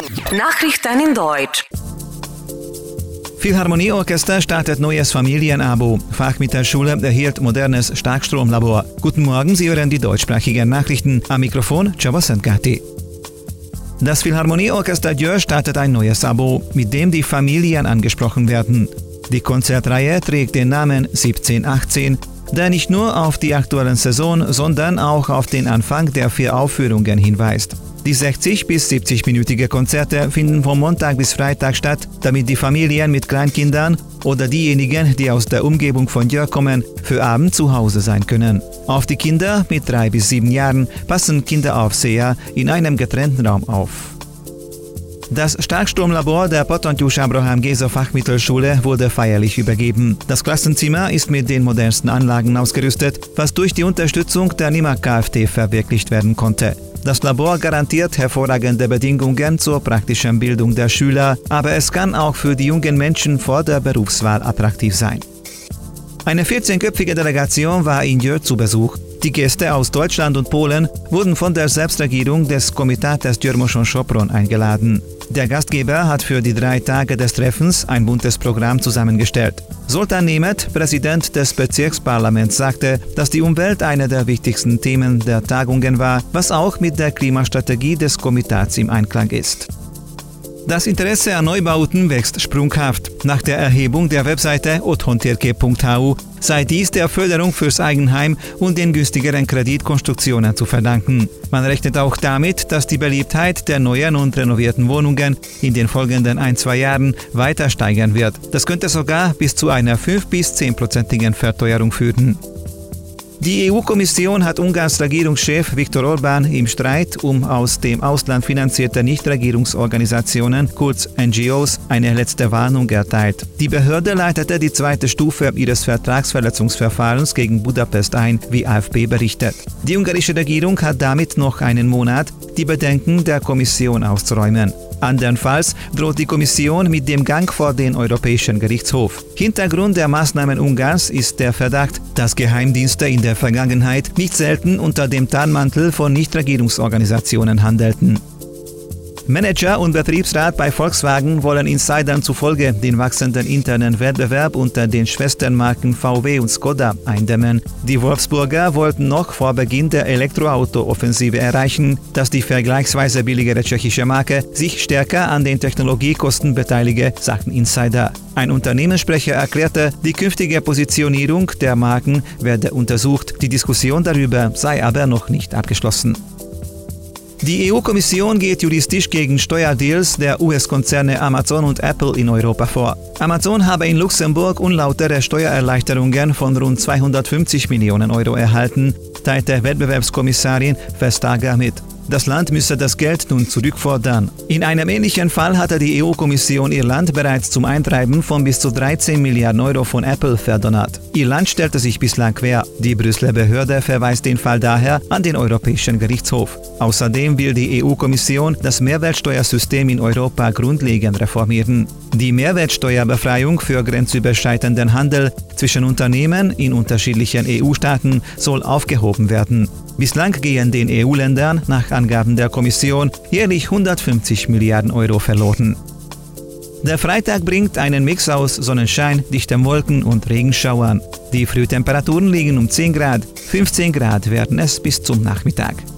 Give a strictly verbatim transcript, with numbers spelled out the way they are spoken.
Nachrichten in Deutsch. Philharmonieorchester startet neues Familienabo. Fachmittelschule erhielt modernes Starkstromlabor. Guten Morgen, Sie hören die deutschsprachigen Nachrichten. Am Mikrofon Csaba Szentgárti. Das Philharmonieorchester Győr startet ein neues Abo, mit dem die Familien angesprochen werden. Die Konzertreihe trägt den Namen siebzehn achtzehn, der nicht nur auf die aktuelle Saison, sondern auch auf den Anfang der vier Aufführungen hinweist. Die sechzig bis siebzig-minütige Konzerte finden von Montag bis Freitag statt, damit die Familien mit Kleinkindern oder diejenigen, die aus der Umgebung von Győr kommen, für Abend zu Hause sein können. Auf die Kinder mit drei bis sieben Jahren passen Kinderaufseher in einem getrennten Raum auf. Das Starkstromlabor der Potentjus Abraham Géza Fachmittelschule wurde feierlich übergeben. Das Klassenzimmer ist mit den modernsten Anlagen ausgerüstet, was durch die Unterstützung der N I M A K F T verwirklicht werden konnte. Das Labor garantiert hervorragende Bedingungen zur praktischen Bildung der Schüler, aber es kann auch für die jungen Menschen vor der Berufswahl attraktiv sein. Eine vierzehnköpfige Delegation war in Győr zu Besuch. Die Gäste aus Deutschland und Polen wurden von der Selbstregierung des Komitates Győr-Moson-Sopron eingeladen. Der Gastgeber hat für die drei Tage des Treffens ein buntes Programm zusammengestellt. Zoltán Németh, Präsident des Bezirksparlaments, sagte, dass die Umwelt eine der wichtigsten Themen der Tagungen war, was auch mit der Klimastrategie des Komitats im Einklang ist. Das Interesse an Neubauten wächst sprunghaft. Nach der Erhebung der Webseite otthonTérkép punkt hu sei dies der Förderung fürs Eigenheim und den günstigeren Kreditkonstruktionen zu verdanken. Man rechnet auch damit, dass die Beliebtheit der neuen und renovierten Wohnungen in den folgenden ein, zwei Jahren weiter steigern wird. Das könnte sogar bis zu einer fünf bis zehn-prozentigen Verteuerung führen. Die E U-Kommission hat Ungarns Regierungschef Viktor Orbán im Streit um aus dem Ausland finanzierte Nichtregierungsorganisationen, kurz N G Os, eine letzte Warnung erteilt. Die Behörde leitete die zweite Stufe ihres Vertragsverletzungsverfahrens gegen Budapest ein, wie A F P berichtet. Die ungarische Regierung hat damit noch einen Monat, die Bedenken der Kommission auszuräumen. Andernfalls droht die Kommission mit dem Gang vor den Europäischen Gerichtshof. Hintergrund der Maßnahmen Ungarns ist der Verdacht, dass Geheimdienste in der Vergangenheit nicht selten unter dem Tarnmantel von Nichtregierungsorganisationen handelten. Manager und Betriebsrat bei Volkswagen wollen Insidern zufolge den wachsenden internen Wettbewerb unter den Schwesternmarken V W und Skoda eindämmen. Die Wolfsburger wollten noch vor Beginn der Elektroauto-Offensive erreichen, dass die vergleichsweise billigere tschechische Marke sich stärker an den Technologiekosten beteilige, sagten Insider. Ein Unternehmenssprecher erklärte, die künftige Positionierung der Marken werde untersucht, die Diskussion darüber sei aber noch nicht abgeschlossen. Die E U-Kommission geht juristisch gegen Steuerdeals der U S-Konzerne Amazon und Apple in Europa vor. Amazon habe in Luxemburg unlautere Steuererleichterungen von rund zweihundertfünfzig Millionen Euro erhalten, teilte Wettbewerbskommissarin Vestager mit. Das Land müsse das Geld nun zurückfordern. In einem ähnlichen Fall hatte die E U-Kommission ihr Land bereits zum Eintreiben von bis zu dreizehn Milliarden Euro von Apple verdonnert. Ihr Land stellte sich bislang quer. Die Brüsseler Behörde verweist den Fall daher an den Europäischen Gerichtshof. Außerdem will die E U-Kommission das Mehrwertsteuersystem in Europa grundlegend reformieren. Die Mehrwertsteuerbefreiung für grenzüberschreitenden Handel zwischen Unternehmen in unterschiedlichen E U-Staaten soll aufgehoben werden. Bislang gehen den E U-Ländern nach Angaben der Kommission jährlich hundertfünfzig Milliarden Euro verloren. Der Freitag bringt einen Mix aus Sonnenschein, dichten Wolken und Regenschauern. Die Frühtemperaturen liegen um zehn Grad, fünfzehn Grad werden es bis zum Nachmittag.